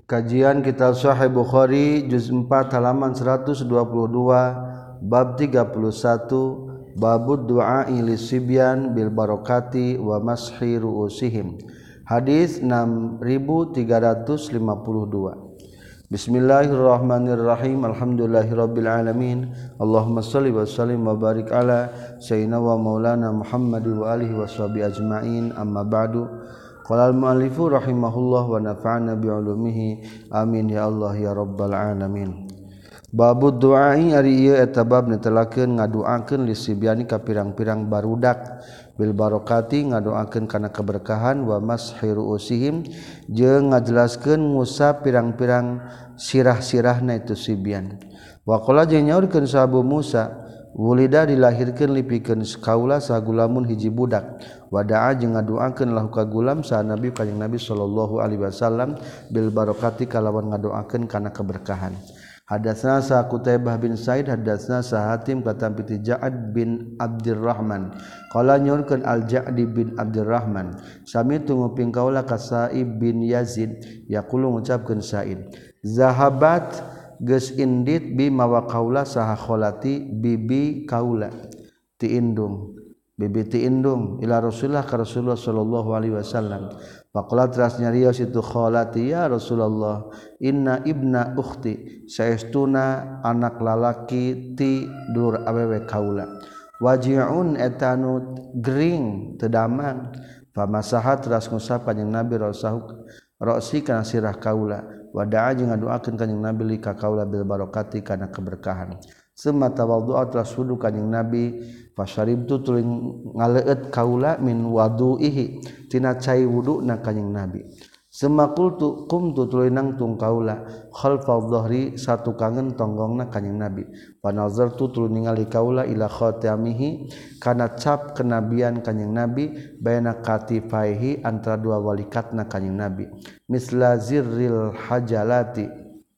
Kajian Kitab Sahih Bukhari juz 4 halaman 122 bab 31 babud du'a'i lisibyan bil barakati wa mashi ru'usihim. Hadis 6352. Bismillahirrahmanirrahim. Alhamdulillahirabbil alamin. Allahumma shalli wa sallim wa barik ala sayyidina wa maulana Muhammad wa alihi washabihi ajmain. Amma ba'du. Qala al-mu'allifu rahimahullah wa nafa'ana bi'ulumihi amin ya Allah ya rabbal alamin. Babud du'ai ari ieu eta bab netelakeun ngadoakeun lisibyani ka pirang-pirang barudak bil barokati ngadoakeun kana keberkahan wa mashiru usihim jeung ngajelaskeun ngusap pirang-pirang sirah-sirahna itu sibyan. Wa qala jeung nyaurkeun sahabu Musa wulida dilahirkeun lipikeun kaula sagulamun hiji budak. Wada'a jeung ngadoakeun lahu ka gulam sa Nabi kanjing Nabi sallallahu alaihi wasallam bil barokati kalawan ngadoakeun kana keberkahan. Hadatsna sa Qutaibah bin Said hadatsna sa Hatim katampi ti Ja'ad bin Abdurrahman qala nyorkeun Al-Ja'di bin Abdurrahman sami tunguping kaula ka Sa'ib bin Yazid yaqulu ngucapkeun Sa'id zahabat geus indit bi mawa kaula saha kholati bibi kaula ti indung bibi ti indung ila Rasulullah ka Rasulullah sallallahu alaihi wasallam faqala teras nyarios itu kholati ya Rasulullah inna ibna ukhti saestuna anak lalaki ti dulur awewe kaula waji'un etanu gering teu damang famasahat teras ngusap kanjing Nabi rasahu ra'si kana sirah kaula wada'a jeung ngadoakeun kanjing Nabi li ka kaula bil barakati kana keberkahan summa tawaddu'a teras wudu kanjing Nabi fasyaribtu tuluy ngaleut kaula min wadu'ihi tina cai wuduna kanjing Nabi summa qultu qumtu tuluy nangtung kaula khalfal dhahri satu kangen tonggongna kanjing Nabi panazartu tuluy ningali kaula ila khatamihi kana cap kenabian kanjing Nabi baina katifaihi antara dua walikatna kanjing Nabi misla zirril hajalati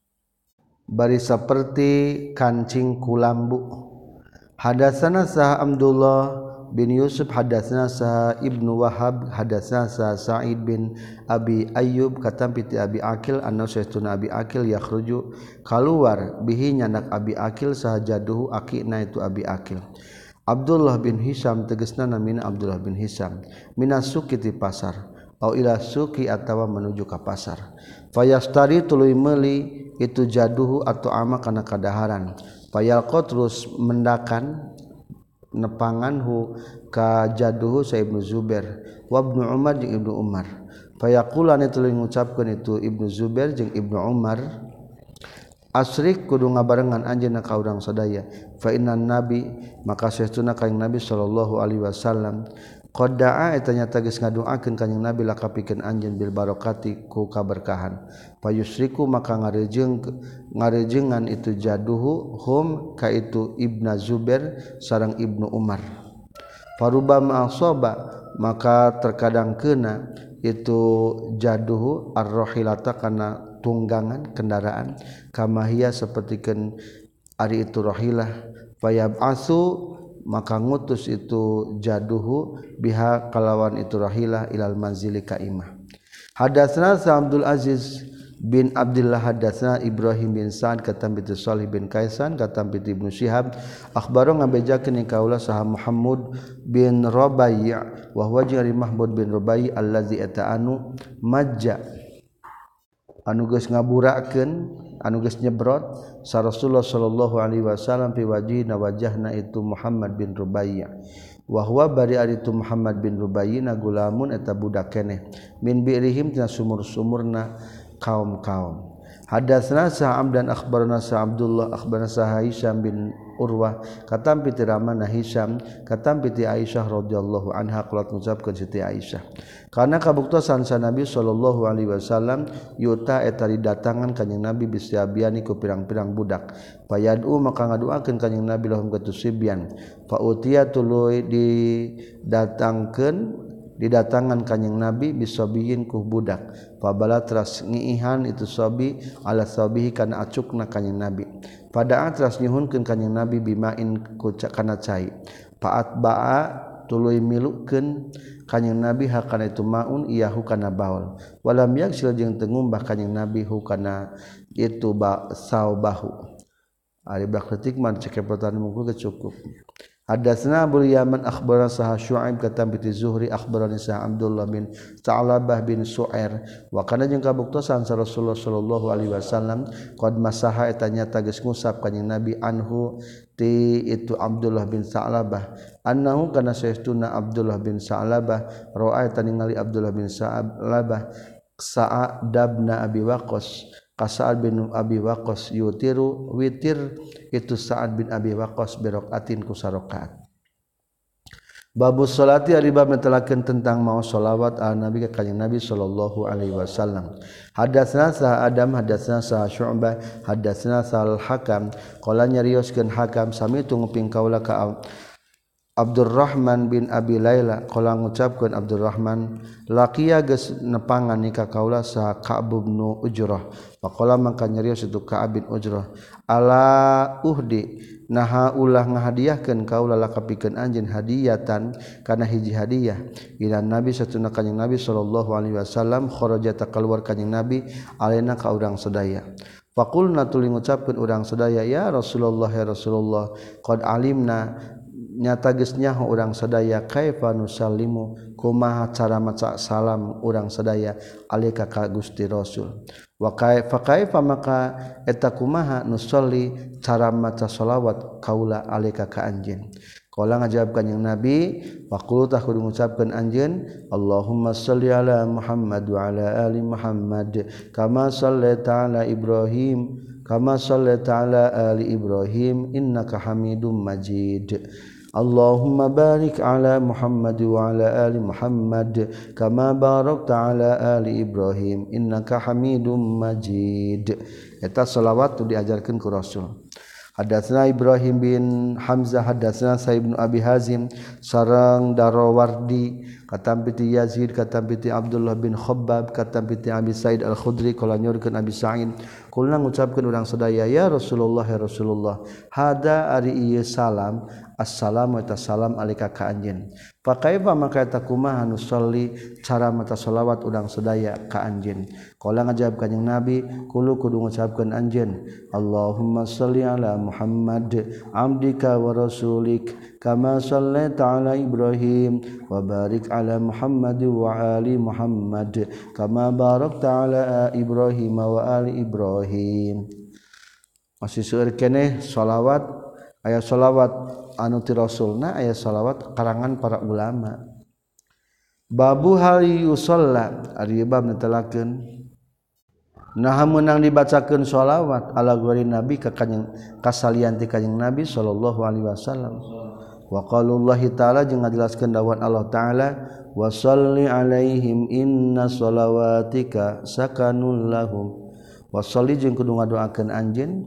bari saperti kancing kulambu. Hadatsana sa Abdullah bin Yusuf hadatsana sa Ibnu Wahab hadatsana sa Sa'id bin Abi Ayyub katampi ti Abi Akil anna sayyiduna Abi Akil yakhruju kaluar bihi nyandak Abi Akil sahajaduhu akina itu Abi Akil. Abdullah bin Hisam tegasna namina Abdullah bin Hisam minasuki ti pasar au ila suki atawa menuju ka pasar fayastari tuluy meuli itu jaduhu atau ama kana kadaharan fayalqa terus mendakan nepanganhu ka jaduhu sa Ibnu Zubair wa Ibnu Umar jeung Ibnu Umar fayaqulani tuluy ngucapkeun itu Ibnu Zubair jeung Ibnu Umar asrik kudu ngabarengan anjeunna ka urang sadaya fa innan nabi maka saestuna kanjing Nabi sallallahu alaihi wasallam qad da'a eta nyata geus ngadoakeun kanjing Nabi lakapikeun anjeun bil barokati ku kaberkahan payusriku maka ngarejengan itu jaduhu hum ka itu Ibnu Zubair sareng Ibnu Umar farubama asaba maka terkadang keuna itu jaduhu ar-rahilata kana tunggangan kendaraan kamahia sapertikeun ari itu rahilah fayab'asu maka ngutus itu jaduhu biha kalawan itu rahilah ilal manzili ka imah. Hadatsna Abdul Aziz bin Abdullah hadatsna Ibrahim bin Sa'ad katampi ti Shalih bin Kaisan katampi ti Ibnu Syihab akhbaro ngabejakeun kaula saha Muhammad bin Rabai' wa huwa jari Mahmud bin Rabai' allazi ata'anu majja anu geus ngaburakeun anu geus nyebrot sa Rasulullah sallallahu alaihi wasallam fi wajhina wajhna itu Muhammad bin Rubai' wa huwa bari ari itu Muhammad bin Rubai' na gulamun eta budak keneh min bi'rihim tina sumur-sumurna kaum-kaum. Hadatsna Sa'am dan akhbarana sa Abdullah akhbarana sa Hisham bin Urwah katampi ti ramana Hisham katampi ti Aisyah radhiyallahu anha qalat ngucapkeun Siti Aisyah karena kabuktosan sa Nabi sallallahu alaihi wasallam yuta eta didatangan kanjing Nabi bisyabiani ku pirang-pirang budak fayad'u maka ngadoakeun kanjing Nabi lahum katusibyan fa utiya tuluy didatangan kanjing Nabi bisabiyin ku budak fabala teras ngiihan itu sabi ala sabihi kana acukna kanjing Nabi pada teras nyuhunkeun kanjing Nabi bimain ku kana cai faat ba'a tuluy milukeun kanjing Nabi hakana itu maun iyahu kana baul walam yaksil jeung teu ngumbah kanjing Nabi hukana itu saubahu ari bakletik man cekepotan mungkul cukup. Hadatsna Abu Yaman akhbarana Sah Syuaib katam bi Zuhri akhbarani Sah Abdullah bin Sa'labah bin Su'air wa kana jeung kabuktosan sa Rasulullah sallallahu alaihi wasallam qad masaha eta nyata geus ngusap kanjing Nabi anhu ti itu Abdullah bin Sa'labah annahu kana saestuna Abdullah bin Sa'labah ra'a eta ningali Abdullah bin Sa'labah Sa'adabna Abi Waqqas Sa'ad bin Abi Waqqas yutiru witir itu Sa'ad bin Abi Waqqas biraqatin ku sarakaat. Babus salati ari bab netelakeun tentang maos shalawat ala nabi ka kanjing Nabi sallallahu alaihi wasallam. Hadatsna sa Adam hadatsna sa Syu'bah hadatsna sa Al-Hakam qala nyarioskeun Hakam sami tu nguping kaula ka Abdurrahman bin Abi Laila qala ngucapkeun Abdurrahman laqiya geus nepangan ni ka kaula sa Ka'ab bin Ujrah faqala mangka nyarios itu Ka'ab bin Ujrah ala uhdi naha ulah ngahadiahkeun kaula lakapikeun anjeun hadiyatan kana hiji hadiah ila Nabi satuna kanjing Nabi sallallahu alaihi wasallam kharajata kaluar kanjing Nabi alaina ka urang sadaya faqulna tuluy ngucapkeun urang sadaya ya Rasulullah qad alimna nyata geus nyaho urang sadaya kaifa nusallimu kumaha cara maca salam urang sadaya alika ka Gusti Rasul wa kaifa maka eta kumaha nusolli cara maca shalawat kaula alika ka anjeun qala ngajawab kanjing Nabi faqulu tah kudu ngucapkeun anjeun Allahumma shalli ala Muhammad wa ala ali Muhammad kama shallaita ala Ibrahim kama shallaita ala ali Ibrahim innaka Hamidum Majid Allahumma barik ala Muhammad wa ala ali Muhammad kama barakta ala ali Ibrahim innaka Hamidum Majid. Eta selawat tu diajarkeun ku Rasul. Hadatsna Ibrahim bin Hamzah hadatsna Sa'id bin Abi Hazim sareng Darawardi katam piti Yazid katam piti Abdullah bin Khabbab katam piti Abi Sa'id Al-Khudri qala nyurkeun Abi Sa'id kulna ngucapkeun urang sadaya ya Rasulullah hada ari ieu salam assalamu eta salam alika ka anjeun fa kaifa maka eta kumaha nusolli cara maca shalawat urang sadaya ka anjeun qala ngajawab kanjing Nabi kudu ngucapkeun anjeun Allahumma shalli ala Muhammad abdika wa rasulik kama shallaita ala Ibrahim wa barik ala Muhammad wa ali Muhammad kama barakta ala Ibrahim wa ali Ibrahim. Masih seueur keneh shalawat aya shalawat anu ti Rasulna aya shalawat karangan para ulama. Babu hal yusalla ari bab netelakeun naha meunang dibacakeun shalawat ala ghairi nabi ka kanjing kasalian ti kanjing Nabi sallallahu alaihi wasallam. Wa qaulullahi ta'ala jeung ngajelaskeun dawuh Allah taala wa shalli alaihim inna shalawatika sakanul lahum wa shalli jeung kudu ngadoakeun anjeun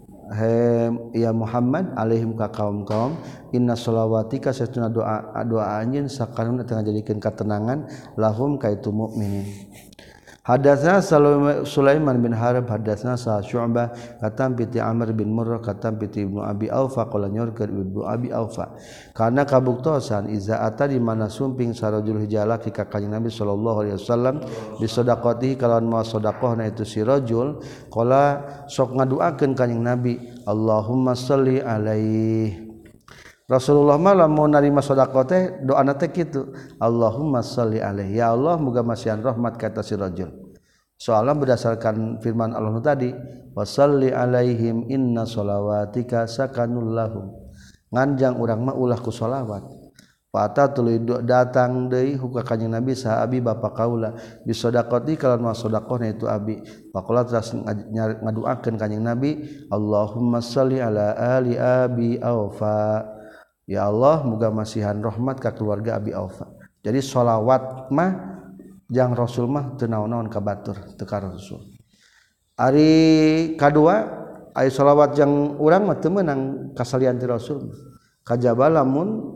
ya Muhammad alaihim ka kaum-kaum inna shalawatika satuna doa anjeun sakanun teu ngajadikeun katenangan lahum ka itu mukminin. Hadatsna Sulaiman bin Harb hadatsna Syu'bah katam piti Amr bin Murrah katam piti Ibnu Abi Aufa qala nyorkeun Ibnu Abi Aufa kana kabuktosan iza ata di mana sumping sarajul hijalaki ka kanjing Nabi sallallahu alaihi wasallam bi sedaqatihi kalawan mawa sedaqahna itu si rajul qala sok ngaduakeun kanjing Nabi Allahumma shalli alaihi Rasulullah malam mau narima sedekah teh doana teh kitu Allahumma shalli alaihi ya Allah muga masihan rahmat ka si rajul soalna berdasarkan firman Allah tadi wasalli alaihim inna shalawatika sakanul lahum nganjang urang mah ulah ku shalawat fata tuluy datang deui ka kanjing Nabi saha abi bapa kaula bi sedaqati kalawan sedekahna itu abi faqala teras ngaduakeun kanjing Nabi Allahumma shalli ala ali abi aufa ya Allah muga masihan rahmat ka keluarga Abi Aufa. Jadi shalawat mah jang Rasul mah teu naon-naon ka batur teu ka Rasul. Ari kadua aya shalawat jang urang mah teu meunang kasalian ti Rasul. Kajaba lamun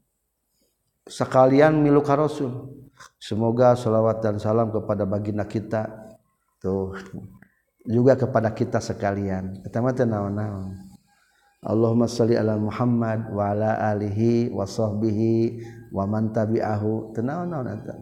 sakalian milu ka Rasul. Semoga shalawat dan salam kepada baginda kita tuh juga kepada kita sekalian. Eta mah teu naon-naon. Allahumma shalli ala Muhammad wa ala alihi wa sahbihi wa man tabi'ahu tenaon-naon eta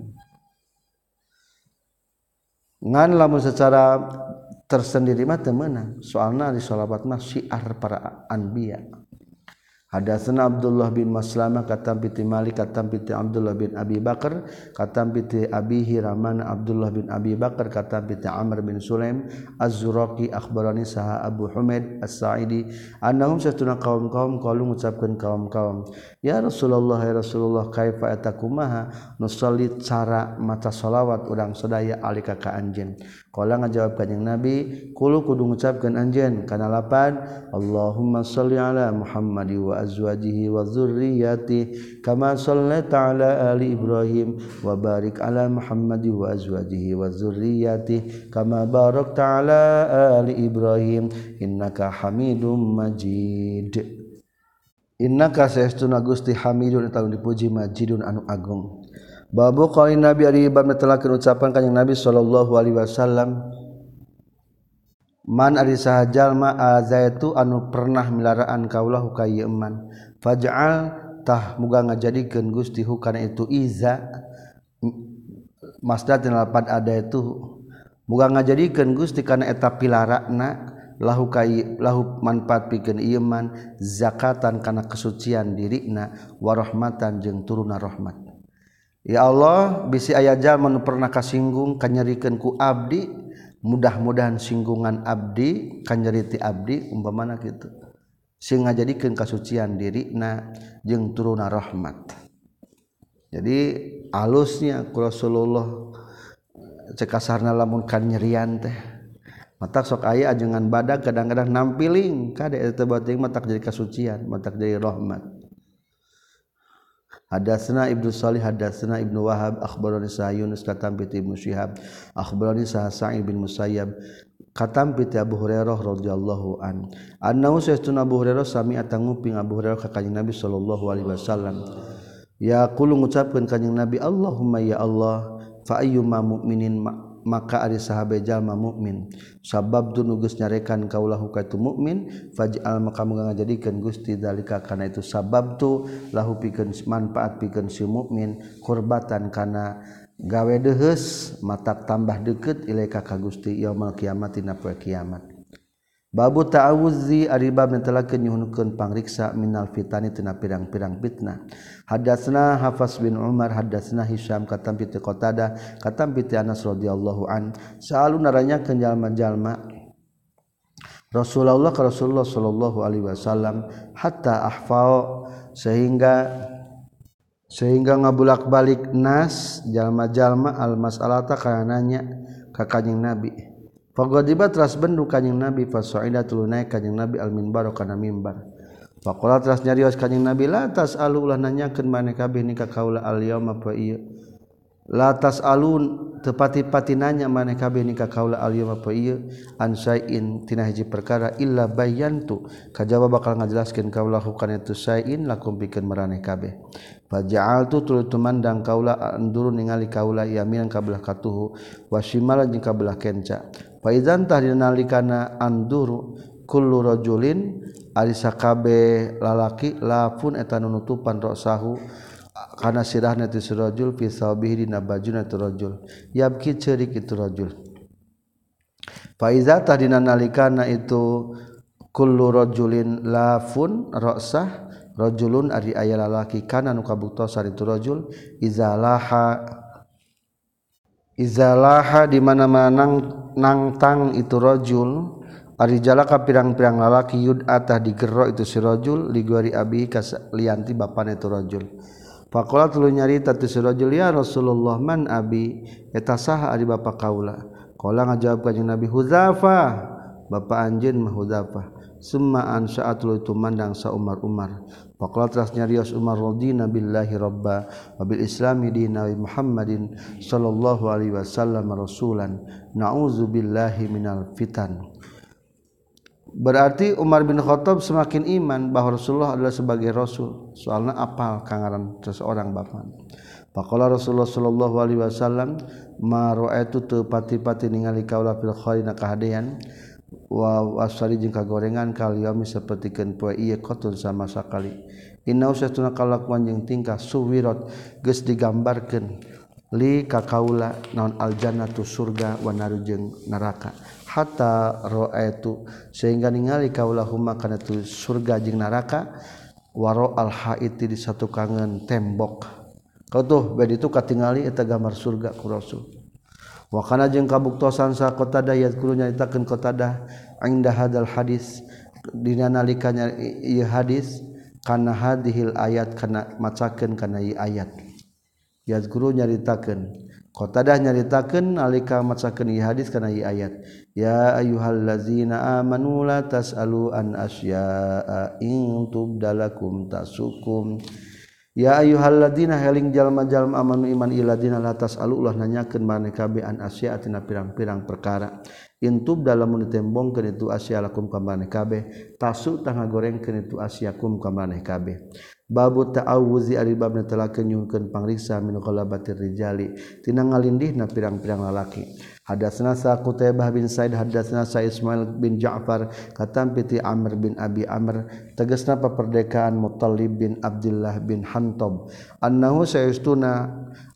ngan lamun secara tersendiri mah teu meunang soalna di sholawat mah syiar para anbiya. Hadatsana Abdullah bin Maslamah katam piti Malik katam piti Abdullah bin Abi Bakar katam piti Abihi Rahman Abdullah bin Abi Bakar katam piti Amr bin Sulaim Az-Zuraqi akhbarani saha Abu Humaid As-Sa'idi annahum satuna kaum-kaum qalu ngucapkeun kaum-kaum ya Rasulullah kaifa atakumaha nusalli cara maca shalawat urang sadaya alika ka anjeun qala ngajawab kanjing Nabi kulo kudu ngucapkeun anjeun kana lapan Allahumma shalli ala Muhammad wa azwajihi wa dzurriyyatihi kama shallaita ala ali Ibrahim wa barik ala Muhammad wa azwajihi wa dzurriyyatihi kama barakta ala ali Ibrahim innaka Hamidum Majid. Innaka saestuna Gusti Hamidun eta dipuji Majidun anu agung. Babu qauli Nabi ari bab netelakeun ucapan kanjing Nabi sallallahu alaihi wasallam man ari saha jalma azaitu anu pernah milaraan kaulahu ka ieu man faj'al tah muga ngajadikeun Gusti hu kana itu iza masdar tina lapan ada itu muga ngajadikeun Gusti kana eta pilarana lahu manfaat pikeun ieu man zakatan kana kesucian dirina wa rahmatan jeung turuna rahmat. Ya Allah bisi aya jalma nu pernah kasinggung kanyerikeun ku abdi mudah-mudahan singgungan abdi kanjariti abdi umpamana kitu sing ngajadikeun kasucian dirina jeung turuna rahmat. Jadi alusnya ku Rasulullah cek kasarna lamun kan nyerian teh matak sok aya ajengan badag kadang-kadang nampiling kade eta bating matak jadi kasucian matak jadi rahmat. Hadatsana Ibnu Shalih hadatsana Ibnu Wahab akhbarani sa Yunus katam piti Ibnu Syihab akhbarani sa Sa'id bin Musayyab katam piti Abu Hurairah radhiyallahu an annahu sastuna Abu Hurairah sami atanguping Abu Hurairah ka kanjing Nabi sallallahu alaihi wasallam ya qulu ngucapkeun kanjing Nabi Allahumma ya Allah fa ayyuma mu'minin maka ari sahabe jalma mukmin sabab tu nugus nyarekan kaulahu ka tu mukmin faj'al maka muga ngajadikeun Gusti zalika kana itu sabab tu lahu pikeun manfaat pikeun si mukmin qurbatan kana gawe deheus matak tambah deukeut ilaika ka Gusti yaumul kiamat dina poe kiamat. Babu ta'awuzi ari bab netelakeun nyuhunkeun pangriksa minal fitani tina pirang-pirang fitnah. Hadatsna Hafs bin Umar hadatsna Hisyam katam piti Qatadah katam piti Anas radhiyallahu an saalu naranyakeun jalma-jalma Rasulullah ka Rasulullah sallallahu alaihi wasallam hatta ahfau sehingga ngabulak-balik nas jalma-jalma al mas'alata kana nanya ka kanjing Nabi. Faqadiba teras bendu kanjing Nabi fasaida tuluy naik kanjing Nabi al minbar kana mimbar. Faqala teras nyarios kanjing Nabi la tasalu ulah nanyakeun maneh kabeh ni ka kaula al yauma fa ieu. La tasalun tepati-pati nanya maneh kabeh ni ka kaula al yauma fa ieu an sain tina hiji perkara illa bayantu kajaba bakal ngajelaskeun kaula kana itu sain lakum pikeun maraneh kabeh. Faja'altu tuluy tumandang kaula anduru ningali kaula yaminan kabelah katuhu wa shimalan jeung kabelah kenca. Fa idzan tahdinalikana anduru kullu rajulin ari sakabe lalaki lafun eta nunutupan rasahu kana sirahna ti rajul fi sabihi dina bajuna ti rajul yabki ceurik itu rajul. Fa idza tahdinalikana itu kullu rajulin lafun rasah rajulun ari aya lalaki kana nu kabuktosan itu rajul izalaha di mana-mana nangtang itu rajul ari jalaka pirang-pirang lalaki yud atah digerro itu si rajul ligori abi kaslianti bapana itu rajul faqala tuluy nyarita tu si rajul ya Rasulullah man abi eta saha ari bapa kaula qala ngajawab kanjing Nabi Hudzafah bapa anjeun mah Hudzafah summa ansa'atul tumandang sa Umar faqala teras nyarios Umar radina billahi rabba wa bil islami dina wa Muhammadin sallallahu alaihi wasallam rasulan na'udzu billahi minal fitan. Berarti Umar bin Khattab semakin iman bahwa Rasulullah adalah sebagai rasul soalnya apal kangaran seseorang bapak. Faqala Rasulullah sallallahu alaihi wasallam ma ra'aitu tu pati-pati ningali kaula fil khairina kahadean wa wasari jeung kagorengan kaliyami sapertikeun poe ieu qotun sama sakali inna usatuna kalakuan jeung tingkah suwirat geus digambarkeun li ka kaula naon aljannatu surga wa naru jeung neraka hatta ra'aitu sehingga ningali kaula huma kana tu surga jeung neraka waro al haiti di satu kangen tembok kau tuh bade itu katingali eta gambar surga ku rasul wa kana jeung kabuktosan sa Qatadah yazkuru nyaritakeun Qatadah inda hadal hadis dina nalika ieu hadis kana hadhil ayat kana macakeun kana ieu ayat yazkuru nyaritakeun Qatadah nyaritakeun nalika macakeun ieu hadis kana ieu ayat ya ayyuhallazina amanu la tasalu an asya'a in tubdalakum tasukum ya ayyuhalladzina heling jalma-jalma amanu iman iladina latas alulah nanyakeun maneh kabeh an asya tina pirang-pirang perkara intub dalam ditembongkeun itu asyalakum ka maneh kabeh tasu tah ngagorengkeun itu asyakum ka maneh kabeh babu ta'awuzi ari bab netelakeun nyuhkeun pangriksa min qalabatir rijali tina ngalindihna pirang-pirang lalaki hadatsna sa Qutaibah bin Said hadatsna sa Ismail bin Ja'far katampi ti Amr bin Abi Amr tegasna paperdekaan Muttalib bin Abdullah bin Hantab annahu sayastuna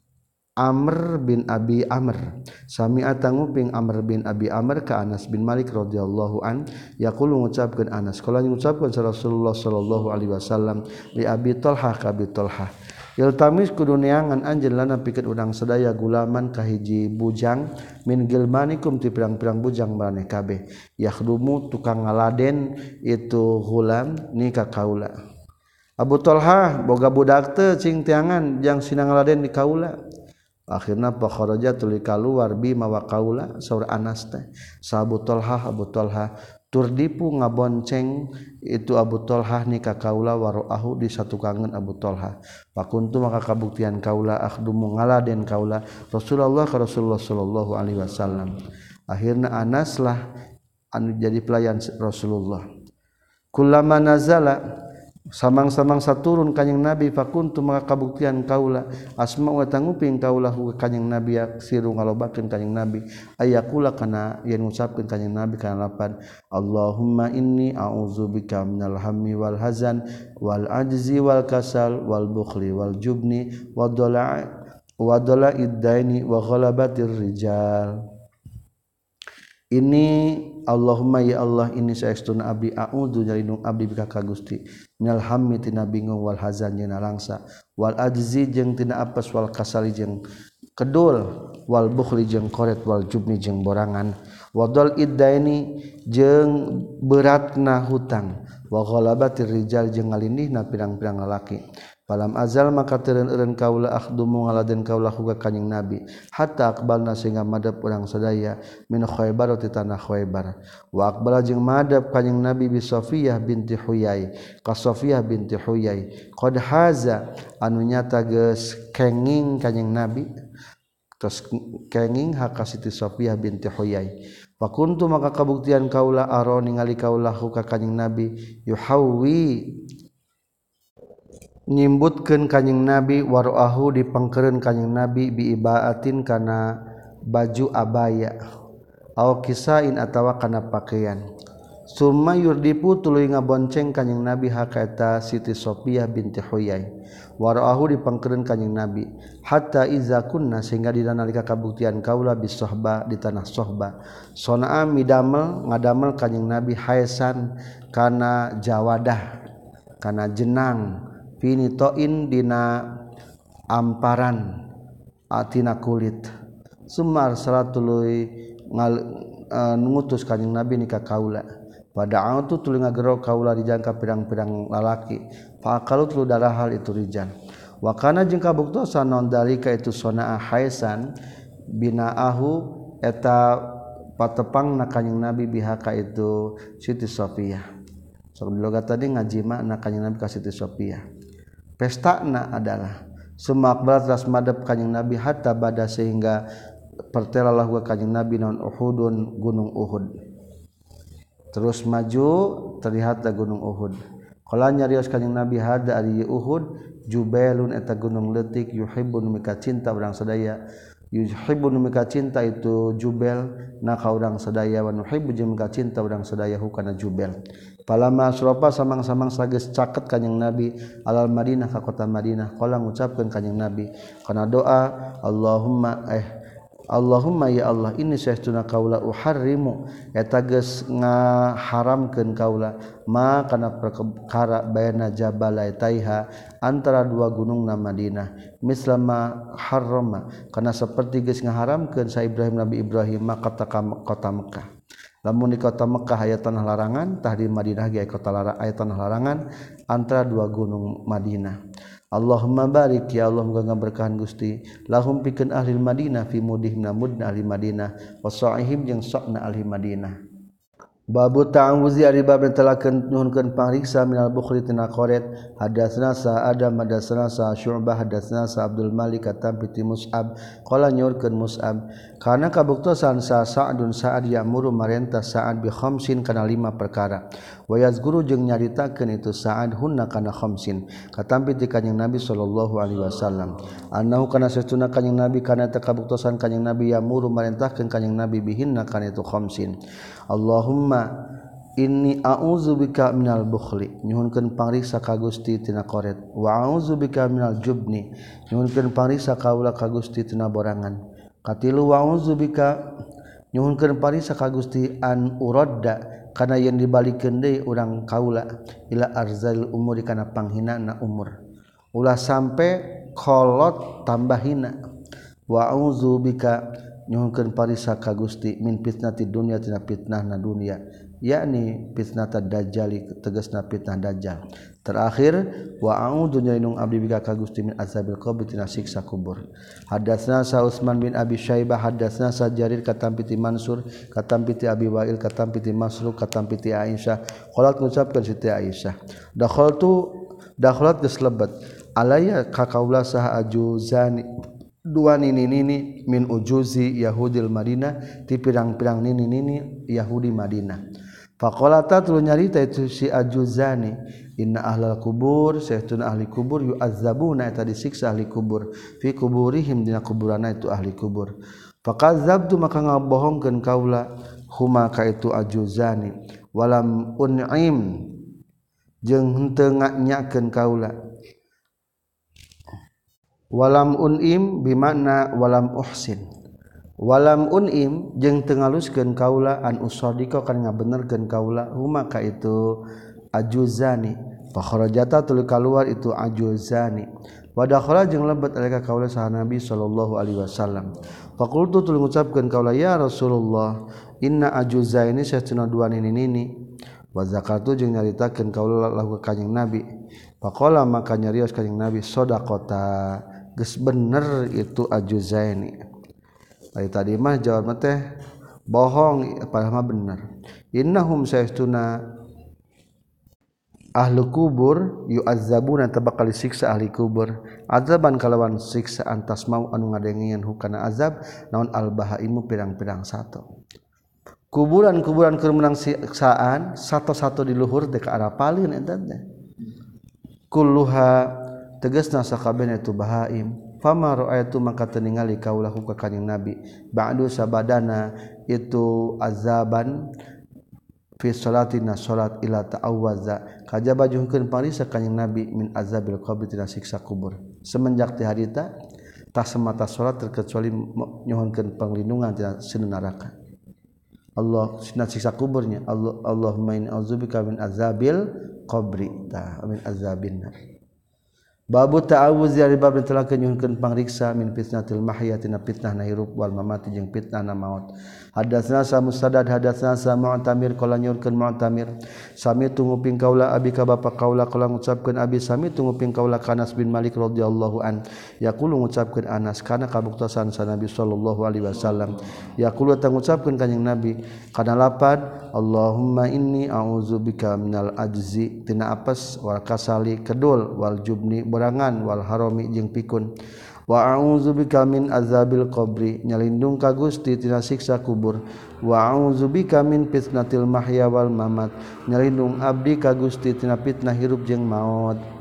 Amr bin Abi Amr sami'a tanguping Amr bin Abi Amr ka Anas bin Malik radhiyallahu an yaqulu ngucapkeun Anas kala ngucapkeun Rasulullah sallallahu alaihi wasallam li Abi Talhah ka Abi Talhah iltamis kudu neangan anjeun lana pikeun urang sadaya gulaman ka hiji bujang min gilmanikum ti pirang-pirang bujang maneh kabeh yakhdumu tukang ngaladen itu gulam ni ka kaula Abu Talhah boga budak teu cing teangan jang sina ngaladen di kaula akhirna fa kharaja tuluy kaluar bi mawa kaula saur Anas teh sa Abu Talhah tur dipu ngabonceng itu Abu Talhah ni ka kaula waroahu di satu kangen Abu Talhah pakuntu maka kabuktian kaula akhdumu ngaladen kaula Rasulullah ka Rasulullah sallallahu alaihi wasallam akhirna Anas lah anu jadi pelayan Rasulullah kullama nazala samang-samang saturun kanjing Nabi fakuntu maka kabuktian kaula asma wa tanguping kaula hu kanjing Nabi siru ngalobakeun kanjing Nabi ayakula kana yen ngucapkeun kanjing Nabi kana lapan Allahumma inni a'udzubika minal hammi wal hazan wal ajzi wal kasal wal bukhli wal jubni wa dhala'id daini wa ghalabatir rijal ini Allahumma ya Allah ini saestuna abdi a'udzu nyalindung abdi bika ka Gusti minal hammi tina bingung wal hazan jeung narangsa wal ajzi jeung tina apes wal kasali jeung kedul wal bukhli jeung koret wal jubni jeung borangan wadal iddaini jeung beratna hutang wa ghalabatir rijal jeung ngalindihna pirang-pirang lalaki falam azal maka teureun kaula akhdumu ngaladen kaula huga kanjing Nabi hatta aqbalna sehingga madep urang sadaya min Khaybar ti tanah Khaybar wa aqbala jeung madep kanjing Nabi bi Safiyah binti Huyai ka Safiyah binti Huyai qad haza anu nyata geus kenging kanjing Nabi tos kenging haka Siti Safiyah binti Huyai wa kuntu maka kabuktian kaula aro ningali kaula ka kanjing Nabi yuhawwi nyimbutkeun kanjing Nabi waroahu dipangkeureun kanjing Nabi bi ibaatin kana baju abaya aw kisain atawa kana pakaian summa yurdipu tuluy ngabonceng kanjing Nabi hakaeta Siti Safiyah binti Huyai waroahu dipangkeureun kanjing Nabi hatta iza kunna sehingga dina nalika kabuktian kaula bis sohba di tanah sohba sonaa midamel ngadamel kanjing Nabi haesan kana jawadah kana jenang finitoin dina amparan atina kulit sumar salatului ngutus kanjing Nabi ni ka kaula pada autu tuluy ngagero kaula dijangka pirang-pirang lalaki fa akalut lu darah hal itu rijal wa kana jeung kabuktosan naon dalika itu sonaa haisan binaahu eta patepangna kanjing Nabi bihaka itu Siti Safiyah sok dilogat tadi ngajima na kanjing Nabi ka Siti Safiyah pestana adalah semak batas madep kanjing Nabi hatta bada sehingga pertelalah wa kanjing Nabi naon Uhudun gunung Uhud terus maju terlihat gunung Uhud qala nyarios kanjing Nabi hada ari Uhud jubailun eta gunung leutik yuhibbun mika cinta urang sadaya yuhibbu mika cinta itu Jubel na ka urang sadaya wa nuhibbu jeung mika cinta urang sadaya hukana Jubel palama asropa samang-samang sageus caket kanjing Nabi alal Madinah ka kota Madinah qala ngucapkeun kanjing Nabi kana doa Allahumma ya Allah ini saestuna kaula uharrimu eta geus ngaharamkeun kaula ma kana perkara bayana jabal taiha antara dua gunungna Madinah mislama harrama kana saperti geus ngaharamkeun sa Ibrahim Nabi Ibrahim kota Mekah lamun di kota Mekah aya tanah larangan tah di Madinah ge aya tanah larangan antara dua gunung Madinah Allahumma barik ya Allah muga ngaberkahan Gusti lahum pikeun ahli Madinah fi mudihna mudna ahli Madinah wa sa'ihim jeung sokna ahli Madinah babu ta'awuzi ari bab telakeun nuhunkeun pangriksa minal bukhri tina qoret hadatsna sa Adam hadatsna sa Syu'bah hadatsna sa Abdul Malik katam piti Mus'ab qala nyorkeun Mus'ab kana kabuktosan sa Sa'dun Sa'ad ya'muru marentah Sa'ad bi khamsin kana 5 perkara wa yazkuru jeung nyaritakeun itu Sa'ad hunna kana khamsin katam piti kanjing Nabi sallallahu alaihi wasallam annahu kana satuna kanjing Nabi kana kabuktosan kanjing Nabi ya'muru marentahkeun kanjing Nabi bihinna kana itu khamsin Allahumma inni a'udzubika minal bukhli nyuhunkeun pangriksa ka Gusti tina qoret wa a'udzubika minal jubni nyuhunkeun pangriksa kaula ka Gusti tina borangan katilu wa a'udzubika nyuhunkeun pangriksa ka Gusti an uradda kana yen dibalikeun deui urang kaula ila arzal umuri kana panghinana umur ulah sampe kolot tambah hina wa a'udzubika nyuhunkeun parisa ka Gusti min fitnati dunya tina fitnahna dunya yakni fitnatad dajjal tegasna fitnah dajjal terakhir wa a'udzu nyainung abdi bika ka Gusti min azabil qabr tina siksa kubur hadatsna sa Utsman bin Abi Syaibah hadatsna sa Jarir katam piti Mansur katam piti Abi Wa'il katam piti Masruq katam piti Aisyah qalat ngucapkeun Siti Aisyah dakhalat geus lebat alaya ka kaula saha ajuzani dua nini-nini min ujuzi Yahudil Madinah ti pirang-pirang nini-nini Yahudi Madinah faqalata tulu nyarita itu si ajuzani inna ahlal kubur saestuna ahli kubur yu'azzabuna eta disiksa ahli kubur fi kuburihim dina kuburana itu ahli kubur faqadzabtu maka ngabohongkeun kaula huma ka itu ajuzani walam un'im jeung henteu nganyakeun kaula walam unim bimakna walam uhsin walam unim jeung teu ngaluskeun kaula an usaddiqa kan ngabenerkeun kaula huma ka itu ajuzani fa kharajata tul kaluar itu ajuzani wa dakhala jeung lebet alika kaula saha Nabi sallallahu alaihi wasallam fa qultu tul ngucapkeun kaula ya Rasulullah inna ajuzaini satuna dua nini wa zakartu jeung nyaritakeun kaula lahu kanjing Nabi faqala maka nyarios kanjing Nabi shadaqata geus bener itu ajuzaini tadi mah jawab teh bohong padahal mah bener innahum saestuna ahli kubur yu'azzabuna tabakal siksa ahli kubur azaban kalawan siksa antas mau anu ngadengeun hukana azab naon albahaimu pirang-pirang sato kuburan-kuburan keur menang siksaan sato-sato di luhur teh ka arah palin eta teh kulluha tegasna sakabehna itu bahaim fama ra'aitu maka teu ningali kaulahu ka kanjing Nabi ba'du sabadana itu azaban fi salatina salat ila ta'awwaza kajaba juhkeun parisa kanjing Nabi min azabil qabr tina siksa kubur semenjak ti harita tah semata salat terkecuali nyohonkeun panglindungan tina sinu neraka Allah sina siksa kuburnya Allahumma inni a'udzubika min azabil qabri ta min azabin nar babu ta'awuz dari bab telah nyuhunkeun pangriksa min fitnatil mahya tina fitnahna hirup wal mamati jeung fitnahna maut hadatsna sa Musaddad hadatsna sa Mu'tamir qala nyuhunkeun Mu'tamir sami tunguping kaula abi ka bapa kaula qala ngucapkeun abi sami tunguping kaula Anas bin Malik radhiyallahu an yaqulu ngucapkeun Anas kana kabuktosan sa Nabi sallallahu alaihi wasallam yaqulu ta ngucapkeun kanjing Nabi kana lapad Allahumma inni a'udzubika minal ajzi tina apes wal kasali kedul wal jubni berangan wal harami jeung pikun wa a'udzubika min azabil qabri nyalindung ka Gusti tina siksa kubur wa a'udzubika min fitnatil mahya wal mamat nyalindung abdi ka Gusti tina fitnah hirup jeung maut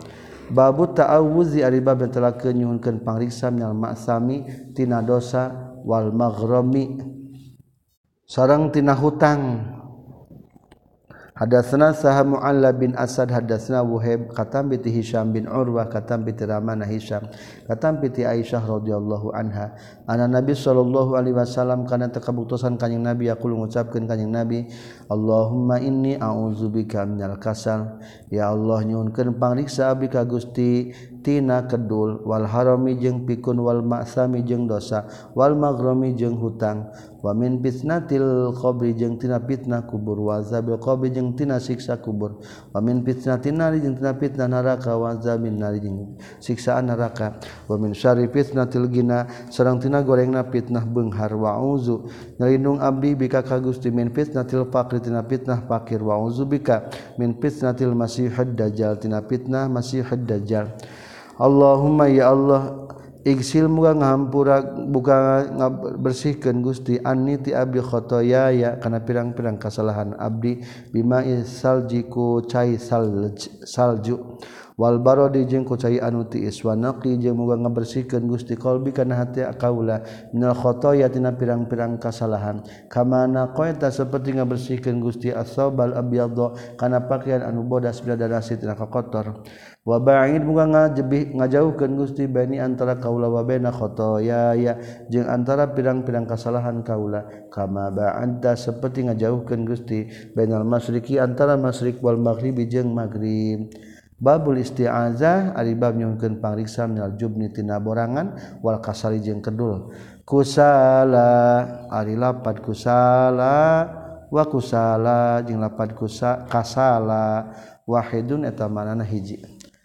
Babu ta'awuzi ari bab telah nyuhunkeun pangriksa minal maksami tina dosa wal maghrami sareng tina hutang. Hadatsana Saha Mu'alla bin Asad hadatsana Wuhaib katam bi Hisyam bin Urwah katam bi Ramana Hisyam katam bi Aisyah radhiyallahu anha anna Nabi sallallahu alaihi wasallam kana takabuktosan kanjing Nabi yaqul ngucapkeun kanjing Nabi Allahumma inni a'udzubika minal kasal ya Allah nyuhunkeun pangriksa abdi ka Gusti tina kedul wal harami jeung pikun wal maksami jeung dosa wal maghrami jeung hutang wa min fitnatil qabri jeung tina fitnah kubur wa azabil qabri jeung tina siksa kubur wa min fitnatin nari jeung tina fitnah neraka wa azabin nari jeung siksaan neraka wa min syarri fitnatil ghina sareng tina gorengna fitnah beunghar wa auzu nalindung abdi bika ka Gusti min fitnatil faqri tina fitnah fakir wa auzu bika min fitnatil masihid dajjal tina fitnah masihid dajjal. Allahumma ya Allah igsil muga ngahampura buka bersihkeun Gusti anni ti abdi khotoya ya kana pirang-pirang kasalahan abdi bima saljiku cai salju wal barodi jeung ku cai anu tiis wa naqi jeung muga ngabersihkeun Gusti qalbi kana hati akaula minal khotoya tina pirang-pirang kasalahan kama naqaita saperti ngabersihkeun Gusti as-saubal abyadha kana pakaian anu bodas bila darasi tina kotor wa ba'id muga ngajauhkeun Gusti bani antara kaula wa baina khotoya ya jeung antara pirang-pirang kasalahan kaula kama ba'anta saperti ngajauhkeun Gusti bainal masyriqi antara masyriq wal maghribi jeung maghrib. Babul isti'azah ari bab nyuhunkeun pangriksa minal jubni tina borangan wal kasali jeung kedul kusala ari lapad kusala wa kusala jeung lapad kasala wahidun eta manana hiji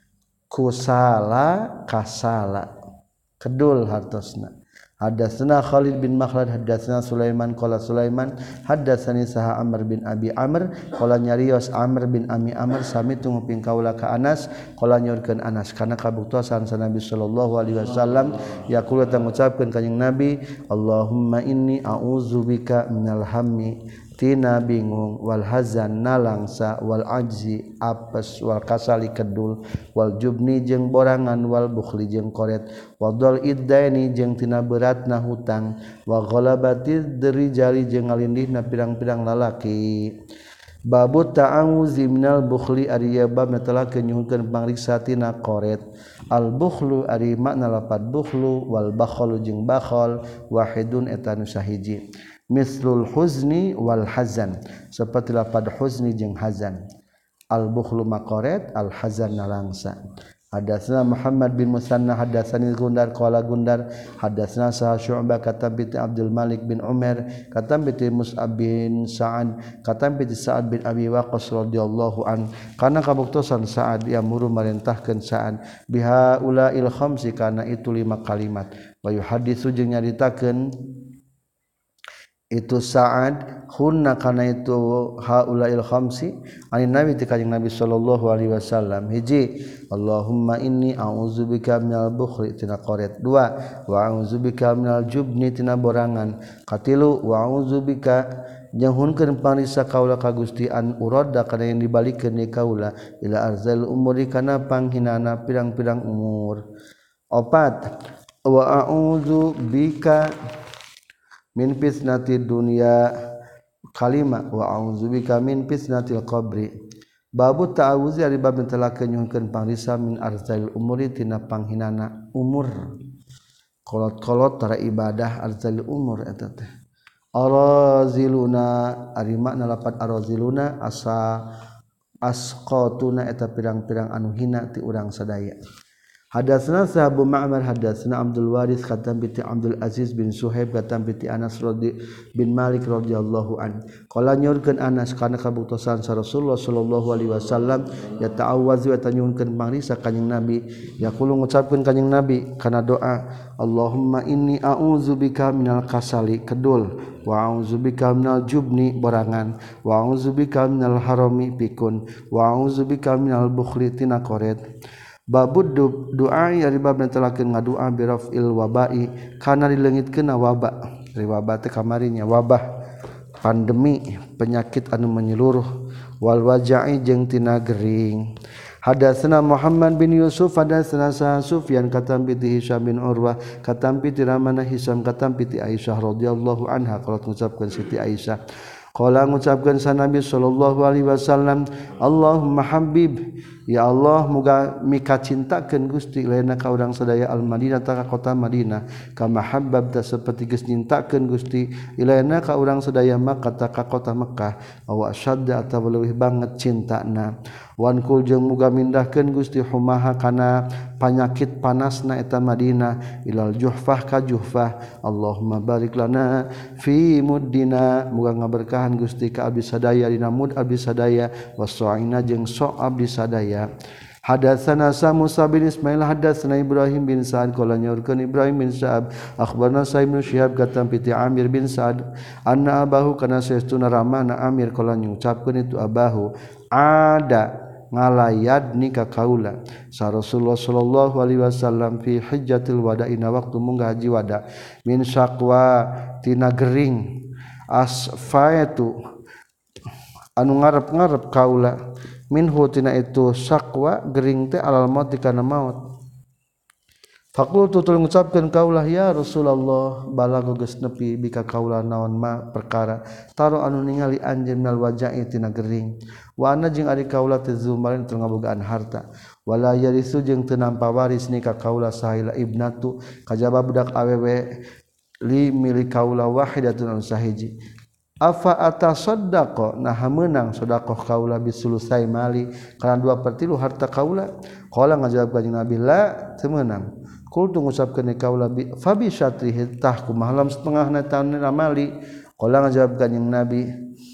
kusala kasala kedul hartosna. Hadatsana Khalid bin Makhlad hadatsana Sulaiman qala Sulaiman hadatsani Saha Amr bin Abi Amr qala nyarios Amr bin Ami Amr sami tunguping kaula ka Anas qala nyorkeun Anas kana kabuktosan sa Nabi sallallahu alaihi wasallam yaqulu ta ngucapkeun kanjing Nabi Allahumma inni a'udzubika minal hammi tina bingung wal hazan nalangsa wal ajzi apes wal kasali kedul wal jubni jeung borangan wal bukhli jeung koret wadul iddaini jeung tina beratna hutang wa ghalabati derijali jeung ngalindihna pirang-pirang lalaki. Babu ta'awuzi minal bukhli ari bab telah nyuhunkeun pangriksa tina koret al bukhlu ari makna lapad bukhlu wal bakhalu jeung bakhal wahidun eta nu sahiji mislul huzni wal hazan seperti lapad huzni jeung hazan al bukhlu maqaret al hazan nalangsa. Hadatsana Muhammad bin Musanna hadatsani Gundar qala Gundar hadatsana Sa'ad Syu'bah katam bi Abdul Malik bin Umar katam bi Mus'ab bin Sa'ad katam bi Sa'ad bin Abi Waqqas radhiyallahu an kana kabuktosan Sa'ad yamuru marentahkeun Sa'ad biha ulail khamsi kana itu 5 kalimat wa yuhaditsu jeung nyaritakeun itu Sa'ad hunna kana itu haulail khamsi ani nabi ti kanjing Nabi sallallahu alaihi wasallam hiji Allahumma inni a'udzubika minal bukhli tina qaret dua wa a'udzubika minal jubni tina borangan katilu wa a'udzubika janghunkeun pangriksa kaula ka Gusti an urada kana yang dibalikeun ni kaula ila arzal umuri kana panghinana pirang-pirang umur opat wa a'udzubika min fitnatid dunya kalima wa a'udzubika min fitnatil qabri. Babu ta'awuzi ari bab telah nyuhunkeun pangriksa min arzail umuri tina panghinana umur kolot-kolot tara ibadah arzail umur eta teh araziluna ari makna lapat araziluna asa asqatuna eta pirang-pirang anu hina ti urang sadaya. Hadatsana Sahabu Ma'mar hadatsana Abdul Waris katam bi Abdul Aziz bin Suhaib katam bi Anas bin Malik radhiyallahu an qala nyorkeun Anas kana kabuktosan sa Rasulullah sallallahu alaihi wasallam ya ta'awwazu wa tanyunkeun pangriksa kanjing Nabi yaqulu ngucapkeun kanjing Nabi kana doa Allahumma inni a'udzubika minal kasali kedul wa a'udzubika minal jubni borangan wa a'udzubika minal harami pikun wa a'udzubika minal bukhli tina koret. Babud doa ari bab netelakeun ngadua bi rafil wabai kana dileungitkeun wabah ari wabah teh kamarinya wabah pandemi penyakit anu menyeluruh wal waja'i jeung tina gering Hadatsana Muhammad bin Yusuf hadatsana Sufyan katam piti Hisam bin Urwah katam piti ramana Hisam katam piti Aisyah radhiyallahu anha qalat ngucapkeun Siti Aisyah qala ngucapkeun sa Nabi sallallahu alaihi wasallam Allahumma habib ya Allah muga mika cintakeun Gusti laina ka urang sadaya al Madinah ta kota Madinah kama habbabta saperti geus nyintakeun Gusti ilaina ka urang sadaya Makkah ta ka kota Mekkah aw asyadda atawa leuwih banget cintana wan kul jeung muga mindahkeun Gusti humaha kana panyakit panasna eta Madinah ilal Juhfah ka Juhfah Allahumma barik lana fi muddina muga ngaberkahan Gusti ka abdi sadaya dina mud abdi sadaya wasa'ina jeung sok abdi sadaya. Hadatsana Musa bin Ismail hadatsana Ibrahim bin Sa'ad qala nyaurkeun Ibrahim bin Sa'ad akhbarna Sa'ib bin Syihab katam piti Amir bin Sa'ad anna abahu kana saestuna ramana Amir qala ngucapkeun itu abahu ada ngalayad nikah kaula sa Rasulullah sallallahu alaihi wasallam fi hajjatil wada ina waktu munggah haji wada min syaqwa tina gering asfaitu anu ngarep-ngarep kaula minhu tina itu syaqwa gering teh alal maut kana maut faqultu tul ngucapkeun kaulah ya Rasulullah balago geus nepi bika kaula naon ma perkara taro anu ningali anjeun minal waja'i tina gering wa ana jeung ari kaula teh zumarin teu ngabogaan harta wala yarisu jeung teu nampa waris ni ka kaula sahila ibnatu kajaba budak awewe li milik kaula wahidatun anu sahiji afa atasaddaqa nah meunang sedekah kaula bisulusai mali kana 2/3 harta kaula qala ngajawab kanjing Nabi la teu meunang qultu ngucapkeun kaula fa bi syatrihi tah kumaha lam setengahna taunna mali qala ngajawab kanjing Nabi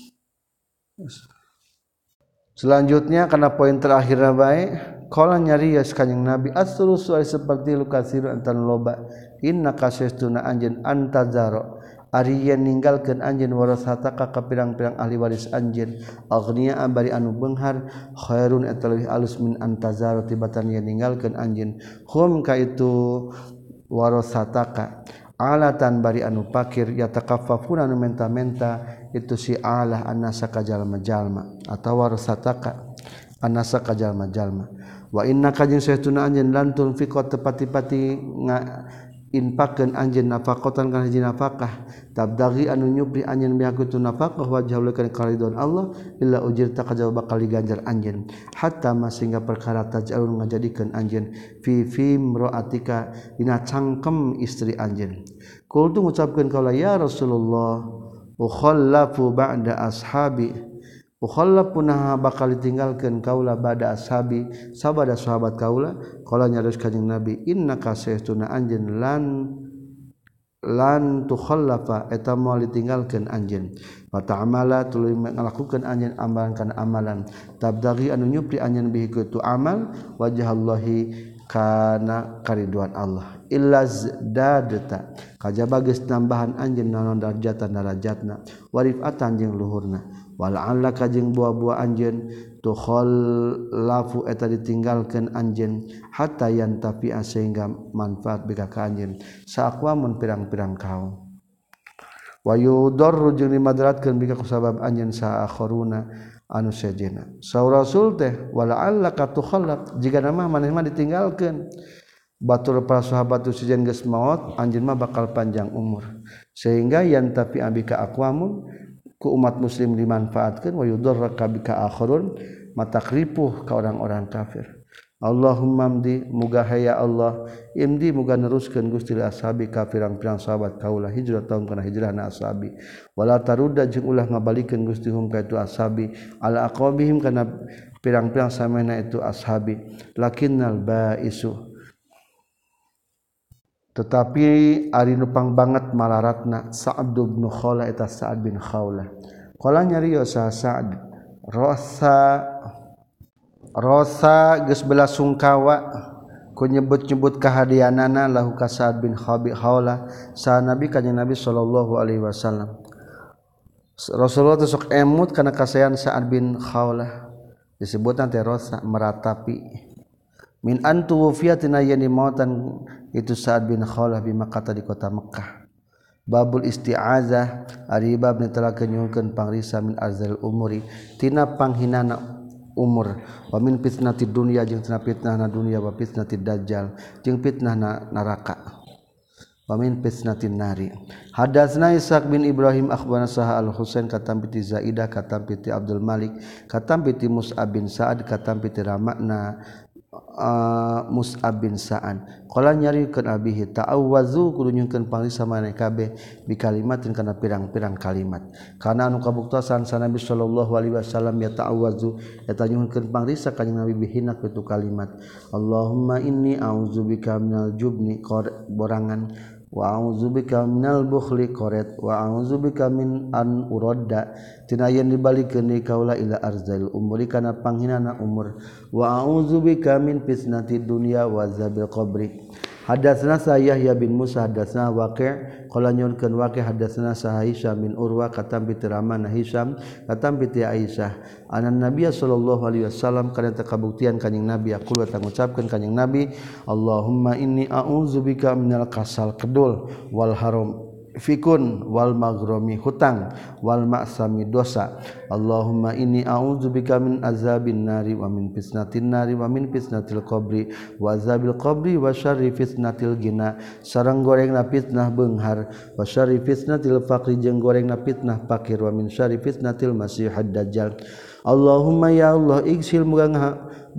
selanjutnya kana poin terakhir bae qala nyarios kanjing Nabi as-sulusu seperti lukasir antan loba inna kasastuna anjeun antazaro ari yen ninggalkeun anjeun warasataka ka pirang-pirang ahli waris anjeun aghnia bari anu beunghar khairun eta leuwih alus min antazaro tibatan yen ninggalkeun anjeun hum ka itu warasataka alatan bari anu pakir yatakaffafuna anu menta-menta itu si alah anasa ka jalma-jalma atawa warasataka anasa ka jalma-jalma wa innaka jeung saestuna anjeun lantun fiqat tepati-pati infaqkeun anjeun nafaqatan kana hiji nafaqah tabdaghi anu nyupri anjeun bihakutu nafaqah wajhaul kana karidon Allah illa ujirta kajaba bakal diganjar anjeun hatta masingga perkara taj'alun ngajadikeun anjeun fi imra'atika dina cangkem istri anjeun qultu ngucapkeun kaula ya Rasulullah ukhallafu ba'da ashabi ukhallafuna bakal ditinggalkeun kaula ba'da ashabi sabada sahabat kaula qala nyaris kanjing Nabi innaka saestuna anjeun lan tukhallafa eta moal ditinggalkeun anjeun wa ta'amala tuluy ngalakukeun anjeun amalan kana amalan tabdaghi anu nyupri anjeun bihi kitu amal wajhallahi kana kariduan Allah illa zadata kajaba geus tambahan anjeun naon darajatna warifatan jeung luhurna wala'alla kajeng buah-buah anjeun tukhallafu eta ditinggalkeun anjeun hatta yantafi sehingga manfaat bika ka anjeun saaqwamun pirang-pirang kaum wa yudarru jeung dimadratkeun bika kusabab anjeun sa akharuna anu sejena sa rasul teh wala'alla ka tukhallaf jiga nama maneh mah ditinggalkeun batur para sahabat tu sejen geus maot anjeun mah bakal panjang umur sehingga yantafi bika aqwamun ku umat muslim dimanfaatkan wa yudarraka bika akharun matakripuh ka orang-orang kafir Allahumma amdi muga haya Allah imdi muga neruskeun Gusti ashabi ka pirang-pirang sahabat kaula hijrah taun kana hijrahna ashabi wala tarudda jeung ulah ngabalikeun Gusti hum ka itu ashabi ala aqwabihim kana pirang-pirang samana itu ashabi lakinnal baisu tetapi ari nupang banget malaratna Sa'ad bin Khawlah eta Sa'ad bin Khawlah qala nyarios Sa'ad rosa geus bela sungkawa ku nyebut-nyebut kahadianana lahu ka Sa'ad bin Khawlah sa Nabi kanjeng Nabi sallallahu alaihi wasallam Rasulullah teh sok emut kana kasayan Sa'ad bin Khawlah disebutna teh rosa meratapi min antu wufiyatina yani mautan itu Sa'ad bin Khawlah bi Makkah di kota Mekkah babul isti'azah ari bab netelakeun nyuhkeun pangrisa min arzal umuri tina panghinana umur wa min fitnatid dunya jeung tina fitnahna dunya wa fitnatid dajjal jeung fitnahna neraka wa min fitnatin nari. Hadatsna Ishaq bin Ibrahim akhbarana Sahal Al-Husain katam piti Zaidah katam piti Abdul Malik katam piti Mus'ab bin Sa'ad katam piti Ramakna Mus'ab bin Sa'ad qala nyarikeun abihi ta'awwazu kudu nyungkeun pangriksa maneh kabeh bi kalimatin kana pirang-pirang kalimat kana anu kabuktosan sa Nabi sallallahu alaihi wasallam ya ta'awwazu eta nyungkeun pangriksa kanjing Nabi bihina kitu kalimat Allahumma inni a'udzubika minal jubni borangan wa a'udzubika minal bukhli qaret wa a'udzubika min an uradda tina yen dibalikeun deui kaula ila arzail umuri kana panghinana umur wa a'udzubika min fitnatid dunya wa azabil qabri. Hadatsana Yahya bin Musa hadatsana Waqi' qala nyurkeun Waqi' hadatsana Hisham bin Urwa katam bi Ramana Hisham katam bi Aisyah anan Nabiy sallallahu alaihi wasallam kana kabuktian kanjing Nabi aqul wa ngucapkeun kanjing Nabi Allahumma inni a'udzubika minal kasal kedul wal haram fikun wal maghromi hutang wal ma'sami dosa Allahumma inni a'udzubika min azabin nari wa min fitnatin nari wa min fitnatil qabri wa azabil qabri wa syarri fitnatil gina sareng gorengna fitnah beunghar wa syarri fitnatil faqri jeung gorengna fitnah fakir wa min syarri fitnatil masiihad dajjal Allahumma ya Allah iksil muga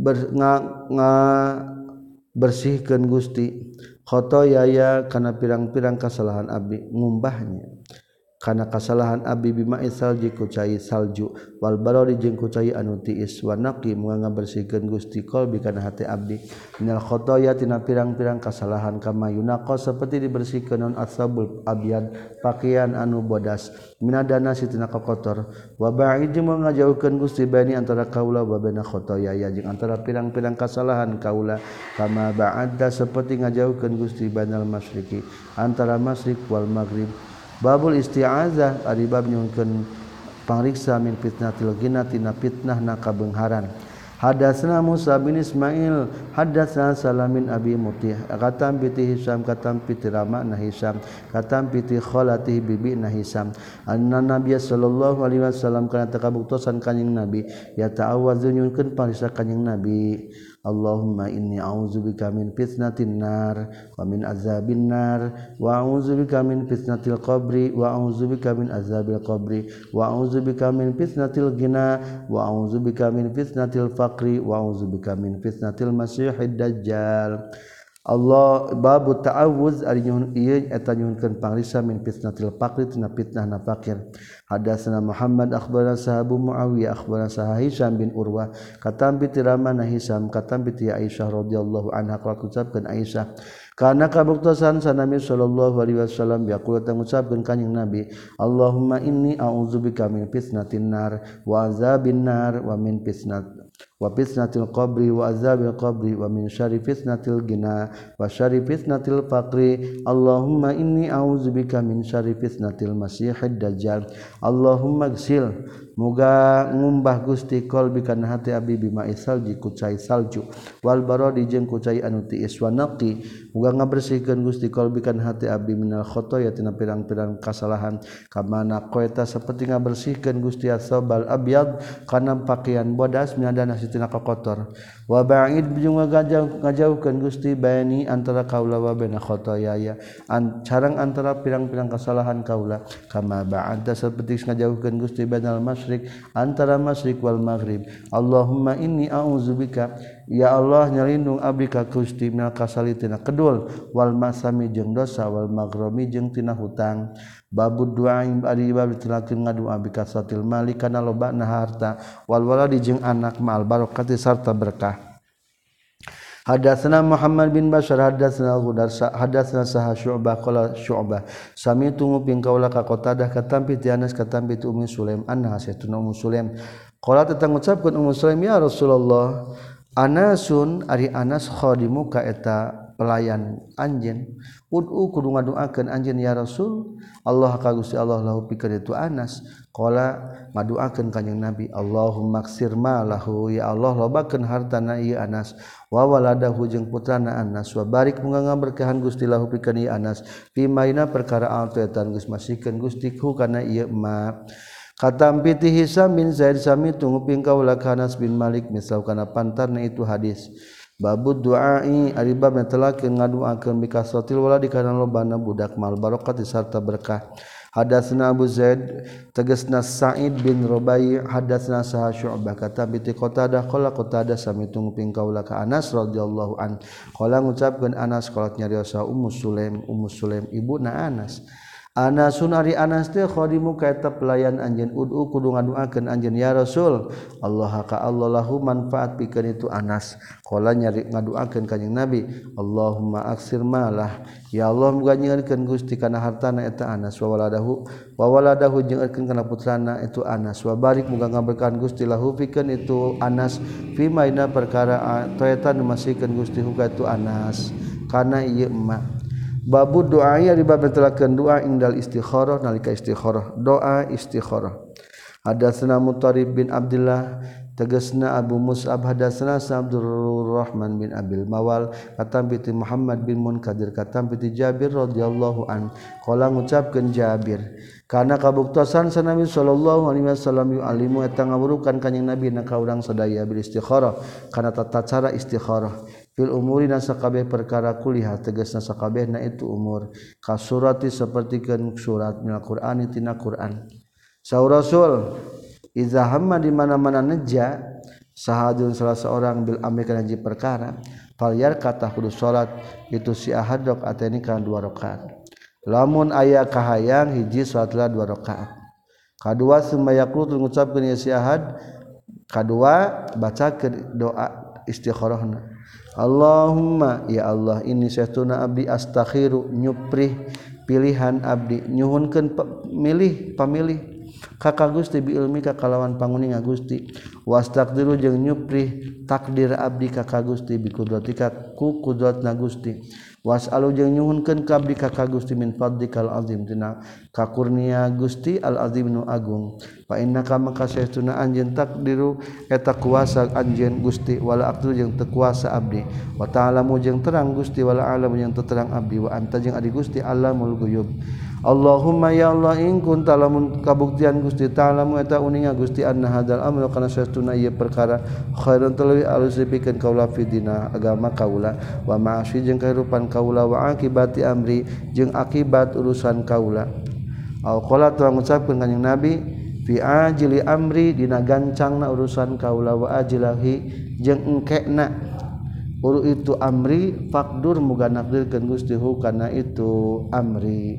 bersihkeun Gusti khotoyaya kana pirang-pirang kesalahan abdi ngumbahnya kana kesalahan abdi bima salji ku cai salju wal barori jeung ku cai anu tiis wa naqi muga ngabersihkeun Gusti qalbi kana hati abdi minal khotoya tina pirang-pirang kesalahan kama yunaqas saperti dibersihkeun non asabul abyad pakaian anu bodas minadana sitina kotor wa ba'id jeung ngajauhkeun Gusti bani antara kaula wa baina khotoya jeung antara pirang-pirang kesalahan kaula kama ba'adda saperti ngajauhkeun Gusti bainal masyriqi antara masyriq wal maghrib. Babul isti'azah ari bab nyungkeun pangriksa min fitnatil ghina tina fitnahna kabeungharan. Hadatsana Musa bin Ismail hadatsana Salamin Abi Mutih katam piti Hisam katam piti Ramakna Hisam katam piti khalati bibina Hisam anna Nabiy sallallahu alaihi wasallam kana takabuktosan kanjing Nabi ya ta'awwadzu nyungkeun pangriksa kanjing Nabi Allahumma inni a'udzubika min fitnatin nar wa min azabin nar wa a'udzubika min fitnatil qabri wa a'udzubika min azabil qabri wa a'udzubika min fitnatil ghina wa a'udzubika min fitnatil faqri wa a'udzubika min fitnatil masiihid dajjal. Allah babu ta'awuz ari nyuhun ieu eta nyuhunkeun pangriksa min fitnatil faqri tina fitnahna fakir. Hadatsana Muhammad akhbarana Sahabu Muawiyah akhbarana Hisham bin Urwah katam bi Ramana Hisham katam bi Aisyah radhiyallahu anha qala ucapkeun Aisyah kana kabuktosan sanami sallallahu alaihi wasallam yaqulu ngucapkeun kanjing Nabi Allahumma inni a'udzubika min fitnatin nar wa azabin nar wa min fitnatil qabri wa azabil qabri wa min syarri fitnatil ghina wa syarri fitnatil faqri Allahumma inni a'udzubika min syarri fitnatil masiihid dajjal Allahumma gsil muga ngumbah Gusti qalbi kana hati abdi bima salji ku cai salju wal baradi jeung ku cai anu tiis wa naqi muga ngabersihkeun Gusti qalbi kana hati abdi minal khotoya tina pirang-pirang kasalahan kamana qoeta saperti ngabersihkeun Gusti asabal abyad kana pakaian bodas minadana sitina kotor wa ba'id jeung ngajauhkeun Gusti baini antara kaula wa baina khotoyaya sareng antara pirang-pirang kasalahan kaula kama ba'ada saperti ngajauhkeun Gusti bainal antara masyriq wal maghrib Allahumma inni a'udzubika ya Allah nyalindung abdi ka Gusti minal kasali tina kedul wal masami jeung dosa wal maghromi jeung tina hutang babud du'a ari bab tilakeun ngadua bi kasatil mali kana lobana harta wal waladi jeung anak ma'al barokati sarta berkah. Hadatsana Muhammad bin Bashar hadatsana Ghudar hadatsana Sahah Syu'bah qala Syu'bah sami'tu nguping kaula ka Qatadah katampi ti Anas katampi ti Ummu Sulaim anha saytuna Ummu Sulaim qala tetang ngucapkeun Ummu Sulaim ya Rasulullah Anasun ari Anas khadimuka eta pelayan anjeun ud'u kudu ngaduakeun anjeun ya Rasul Allah ka Gusti Allah lahu pikeun itu Anas qala ngaduakeun kanjing Nabi Allahumma ksir malahu ya Allah lobakeun hartana ieu Anas wa waladahu jeung putrana Anas wa barik muga ngaberkahan Gusti lahu pikeun ieu Anas fi maina perkara altu eta geus masihkeun Gusti ku kana ieu ma Katampiti Hisam bin Zaid sami tunguping kaula Anas bin Malik misal kana pantarna itu hadis. Babud du'ai ari bab netelakeun ngaduakeun bikasotil waladi kana lobana budak mal barokah sarta berkah. Hadatsna Abu Zaid tegasna Sa'id bin Rubai hadatsna Sah Syu'bah kata bi Qatadah qala Qatadah sami tunguping kaula ka Anas radhiyallahu an qala ngucapkeun Anas qalat nyariosa Ummu Sulaim ibuna Anas Anasun ari Anas teh khadimu kaeta pelayan anjeun ud'u kudu ngaduakeun anjeun ya Rasul Allah ka Allah lahu manfaat pikeun itu Anas qala nyari ngaduakeun kanjing Nabi Allahumma aksir malah ya Allah muga nyieurkeun Gusti kana hartana eta Anas wa waladahu nyieurkeun kana putrana itu Anas wa barik muga ngaberkahan Gusti lahu pikeun itu Anas fi maina perkara toetan masihkeun Gusti huka itu Anas kana ieu emak Babu doa ya dibab telakeun doa indal istikharah nalika istikharah doa istikharah hadatsna Mutarib bin Abdullah tegasna Abu Mus'ab hadatsna Abdul Rahman bin Abil Mawal katam bi Muhammad bin Munkadir katam bi Jabir radhiyallahu an qala ngucapkeun Jabir kana kabuktosan Nabi sallallahu alaihi wasallam yu'alimu eta ngawurukan kanjing Nabi na ka urang sadaya bil istikharah kana tata cara istikharah fil umuri na sakabeh perkara kuliah tegasna sakabehna itu umur kasurati sapertikeun surat minal Qur'an tina Qur'an saur Rasul iza hamma di mana-mana neja sahadun salah seorang bil amri kana hiji perkara fal yarkatah kudu salat itu si ahadok ateni kana 2 rakaat lamun aya kahayang hiji salatlah 2 rakaat kadua sumayaqut ngucapkeun si ahad kadua bacakeun doa istikharahna Allahumma ya Allah ini saestuna abdi astakhiru nyuprih pilihan abdi nyuhunkeun pamilih ka Gusti bi ilmi ka kalawan panguninga Gusti wastaqdiru jeung nyuprih takdir abdi ka Gusti bi kudratika ku kudratna Gusti was'alu jeung nyuhunkeun ka abdi ka Gusti min fadlikal azim tina kakurnia Gusti al azim nu agung fa innaka maka saestuna anjeun takdiru eta kuasa anjeun Gusti wala aqdu jeung teu kuasa abdi wa ta'lamu jeung terang Gusti wala alam jeung teu terang abdi wa anta jeung adi Gusti alamul ghuyub Allahumma ya Allah in kunta lamun kabuktian Gusti ta'lamu eta uninga Gusti anna hadzal amru kana saestuna ieu perkara khairun tuluy alus dipikeun kaula fi dina agama kaula wa ma'asyi jeung kahirupan kaula wa akibati amri jeung akibat urusan kaula au qala tu ngucapkeun kanjing Nabi fi ajli amri dina gancangna urusan kaula wa ajlahi jeung engkena uru itu amri faqdur muga nakdirkeun Gusti hu kana itu amri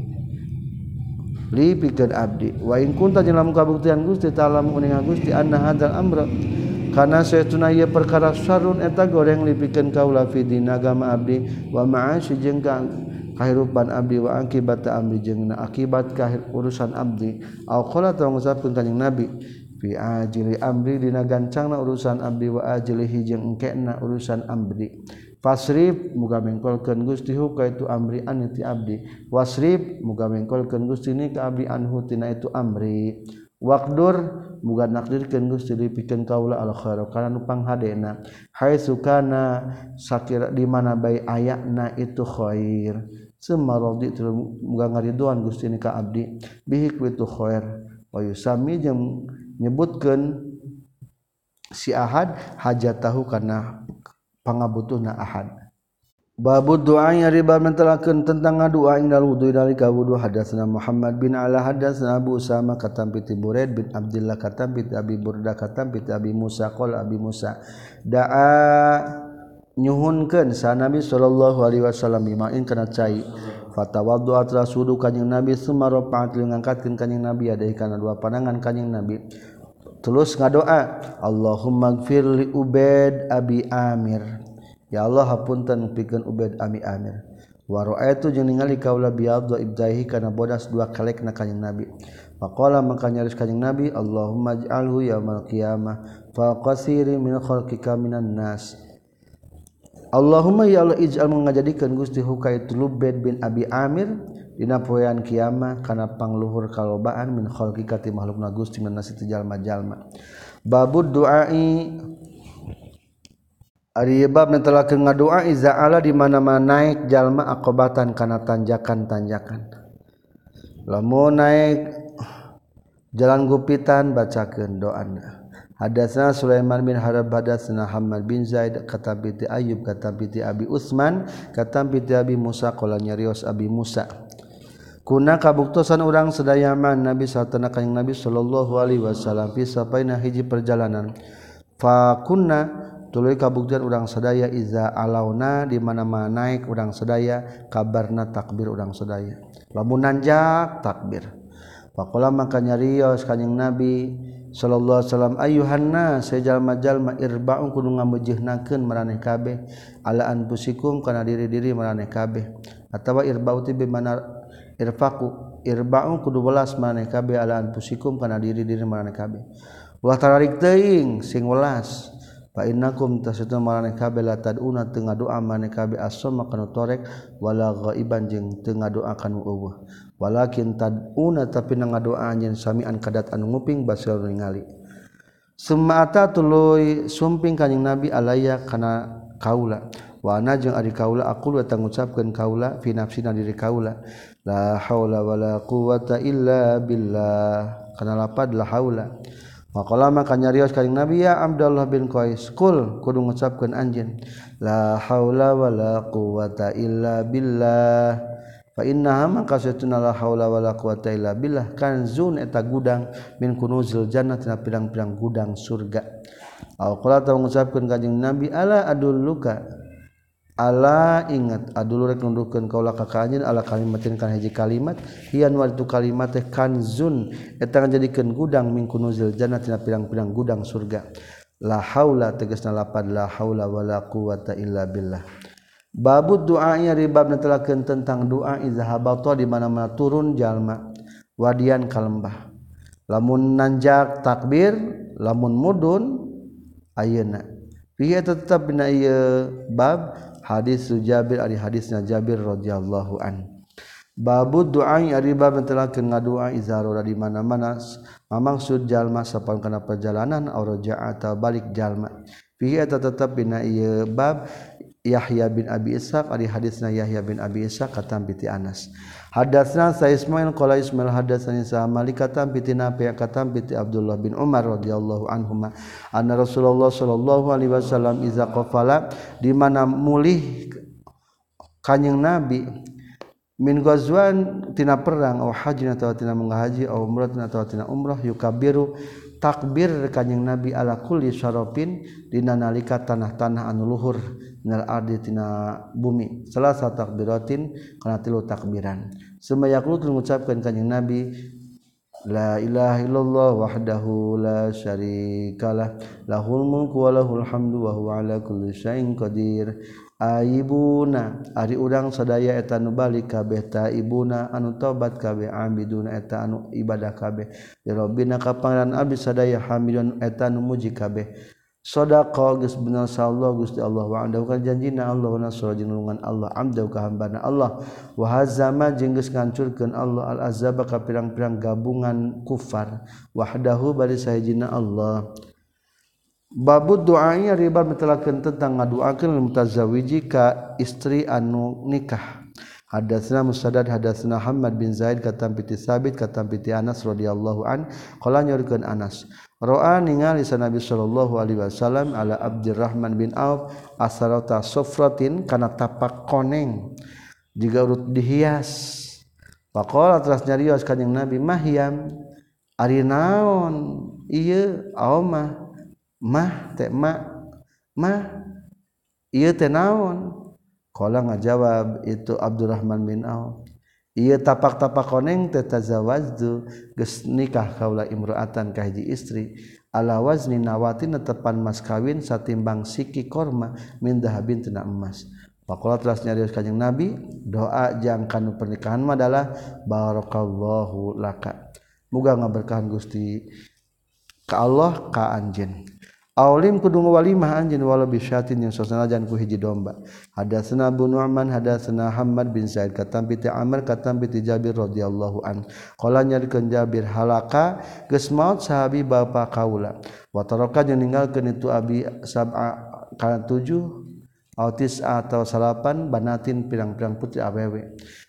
li pikeun abdi wa in kunta jeung kabuktian Gusti ta'ala uninga Gusti anna hadzal amra kana saestuna ieu perkara sarun eta goreng li pikeun kaula fi dina agama abdi wa ma'asy jeung kahirupan abdi wa akibat amri jeung akibat urusan abdi au qala ta ngucapkeun kanjing Nabi fi ajli amri dina gancangna urusan abdi wa ajlihi jeung engkena urusan abdi fasrif muga mengkolkeun Gusti hu ka itu amri an ti abdi wasrif muga mengkolkeun Gusti ni ka abdi anhu tina itu amri waqdur muga nakdirkeun Gusti dipikeun kaula al khair kana nu panghadena haitsu kana sakira di mana bae ayana itu khair semarodi muga ngariduan Gusti ni ka abdi bihi ku itu khair wa yusami jeung nyebutkeun si ahad hajatahu kana pangabutuhna ahad babu doa yang riba mentelakeun tentang ngadua indal wudu dalika wudu hadatsna Muhammad bin Ala hadatsna Abu Usama katam bi Buraid bin Abdullah katam bi Abi Burda katam bi Abi Musa qala Abi Musa daa nyuhunkeun sa Nabi sallallahu alaihi wasallam bimain kana cai fatawaddu atras wudu kanjing Nabi summa rafa'at ngangkatkeun kanjing Nabi adahi kana 2 pandangan kanjing Nabi terus ngadoa Allahumma gfir li Ubaid Abi Amir ya Allah hapunten pikeun Ubaid Abi Amir wa ra'aitu jeung ningali kaula biadha ibdahi kana bodas 2 kalekna kanjing Nabi faqala maka nyaris kanjing Nabi Allahumma ij'alhu yaumal qiyamah fa qasiri min khalqika minan nas Allahumma ya Allah ij'al ngajadikeun Gusti hu ka itu Ubaid bin Abi Amir dina poean kiamah kana pangluhur kalobaan min khalqika ti makhlukna Gusti min nasi jalma-jalma babud duai ari bab netelakeun ngadoa iza ala di mana-mana naik jalma aqobatan kana tanjakan-tanjakan lamun naik jalan gupitan bacakeun doana. Hadatsana Sulaiman bin Harb hadatsana Hammad bin Zaid katampi ti Ayyub katampi ti Abi Utsman katampi ti Abi Musa qala nyarios Abi Musa kuna kabuktosan urang sadaya man Nabi satana kanjing Nabi sallallahu alaihi wasallam fi sapaina hiji perjalanan fa kunna tuluy kabuktian urang sadaya iza alauna di mana-mana naik urang sadaya kabarna takbir urang sadaya lamun nanjak takbir faqala maka nyarios kanjing Nabi sallallahu alaihi wasallam ayyuhanna sajalma-jalma irba'un kudu ngamejehnakeun maraneh kabeh ala anfusikum kana diri-diri maraneh kabeh atawa irba'u ti bimana irfaqu irba'u kudu welas maraneh kabeh ala anfusikum kana diri-diri maraneh kabeh ulah tararik teuing sing welas fa innakum tasatuna maraneh kabeh la taduna teu ngadoa maraneh kabeh as-sama kana torek wala ghaiban jeung teu ngadoa kana eueuh walakin taduna tapi ngadoa anjeun samian kadat anu nguping basir ningali sumata tuluy sumping kanjing Nabi alaya kana kaula wa ana jeung ari kaula aqul wa ngucapkeun kaula fi nafsina diri kaula la haula wala quwata illa billah kana lapad la haula maqala maka nyarios kanjing Nabi ya Abdullah bin Qais kul kudu ngucapkeun anjeun la haula wala quwata illa billah fa innaha maka satuna la haula wala quwata illa billah kanzun eta gudang min kunuzil jannah tina pirang-pirang gudang surga au qala ta ngucapkeun kanjing Nabi ala adulluka ala ingat adul rek nundukeun kaula ka anjeun ala kalimatin kana hiji kalimat hian wa itu kalimat teh kanzun eta ngajadikeun gudang min kunuzil jannah tina pirang-pirang gudang surga la haula tegasna lapad la haula wala quwata illa billah babud doanya ribab netelakeun tentang doa iza habata di mana-mana turun jalma wadian ka lembah lamun nanjak takbir lamun mudun ayeuna fihi tetep dina ieu bab hadis Jabir ari hadisna Jabir radhiyallahu an babud doa ari bab netelakeun ngadoa iza roda di mana-mana mamaksud jalma sapan kana perjalanan aw raja'a ta balik jalma fihi tetep dina ieu bab Yahya bin Abi Ishaq ari hadisna Yahya bin Abi Ishaq katam piti Anas hadatsna sa Ismail qala Ismail hadatsani sa Malik katam piti Nafi' katam piti Abdullah bin Umar radhiyallahu anhuma anna Rasulullah sallallahu alaihi wasallam iza qafala di mana mulih kanjing Nabi min ghazwan tina perang aw hajin atawa tina menghaji aw umrah atawa tina umrah yukabiru takbir kanjing Nabi ala kulli syarafin dina nalika tanah-tanah anu luhur minal ardi tina bumi salasa takbiratin kana tilu takbiran sumayaqulu ngucapkeun kanjing Nabi la ilaha illallah wahdahu la syarikalah lahul mulku wa lahul hamdu wa huwa ala kulli syai'in qadir aibuna ari urang sadaya eta nu balik kabeh taibuna anu tobat kabeh abiduna eta anu ibadah kabeh ya rabbina ka pangeran abdi sadaya hamidun eta nu muji kabeh sadaqa geus bener sallallahu Gusti Allah wa anda kan janjina Allah wa nasra jinulungan Allah amda ka hambana Allah wa hazama jeung geus ngancurkeun Allah al azaba ka pirang-pirang gabungan kufar wahdahu bari sahijina Allah babud doanya riba metelakeun tentang ngaduakeun mutazawiji ka istri anu nikah hadatsna Musaddad hadatsna Hammad bin Zaid katam piti Sabit katam piti Anas radhiyallahu an qala nyorikeun Anas ro'a ningali Nabi sallallahu alaihi wasallam ala Abdurrahman bin Auf asarata sufratin kana tapak koneng jiga urut dihias faqala teras nyarios kanjing Nabi mahyam ari naon ieu aomah mah teh mah ieu teh naon qala ngajawab itu Abdurrahman bin Auf ieu tapak-tapak koneng teh tazawwajtu geus nikah kaula imraatan ka hiji istri ala wazni nawatin tepan mas kawin satimbang siki korma min dahabin tina emas faqala teras nyarios kanjing Nabi doa jang kanu pernikahan mah adalah barakallahu laka muga ngaberkahan Gusti ka Allah ka anjeun Aulim kudu walimah anjeun wala bisyatin yang sasanajan ku hiji domba. Hadatsana Abu Nu'man hadatsana Hammad bin Zaid katam piti Amr katam piti Jabir radhiyallahu an. Qala nyarikeun Jabir halaka geus maot sahabi bapa kaula. Wa taraka jeung ninggalkeun itu abi sab'a kana 7 atau 9 atau 8 banatin pirang-pirang putri awewe.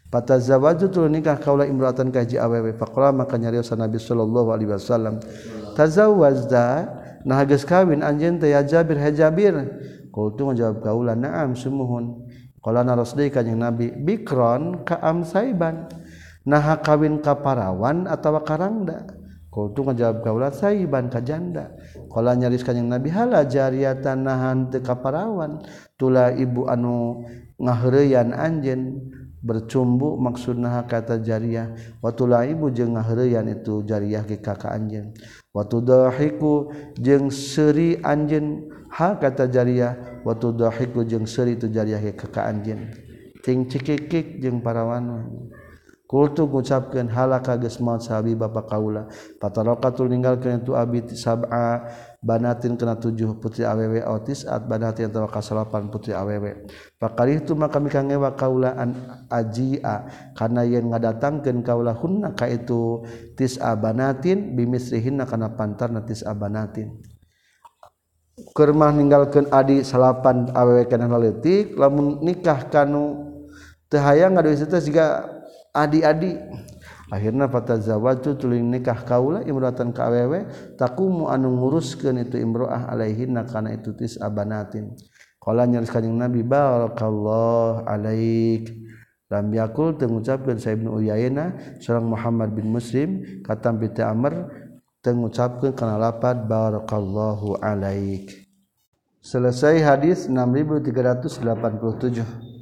Fatazawwaju tuluy nikah kaula imra'atan ka hiji awewe faqala maka nyarios Nabi sallallahu alaihi wasallam tazawwazda nah geus kawin anjeun teh ya Jabir hajabir qultu ngajawab kaula na'am sumuhun qala narasdi kanjing Nabi bikron ka amsaiban nah kawin ka parawan atawa karangda qultu ngajawab kaula saiban ka janda qala nyaris kanjing Nabi hala jariyatan nahan teu ka parawan tula ibu anu ngaheureuyan anjeun bercumbu maksudna kata jariyah watula ibu jeung ngaheureuyan itu jariyah ke kakak anjeun watudahiku jeung seuri anjeun ha kata jariyah watudahiku jeung seuri itu jariyah ke kakak anjeun ting cikikik jeung parawan kultu ngucapkeun halaka geus maot sahabi bapa kaula patarakatul ninggalkeun itu abi sab'a banatin kana 7 putri awewe autis at banatin atawa kasalapan putri awewe pakarih tu maka mikangewa kaula an ajia kana yen ngadatangkeun kaula hunna ka itu tis'a banatin bimisrihinna kana pantarna tis'a banatin keur mah ninggalkeun adi salapan awewe kana leutik lamun nikah kanu teu hayang ngaduis teh siga adi-adi akhirna fatazawwaju tuluy nikah kaula imratan ka awewe taqumu anu nguruskeun itu imroah alaihinna kana itu tis abanatin qala nyaris kanjing Nabi barakallahu alaik lam yakul teu ngucapkeun sa Ibnu Uyainah sareng Muhammad bin Muslim katam bi Amr teu ngucapkeun kana lafaz barakallahu alaik. Selesai hadis 6387.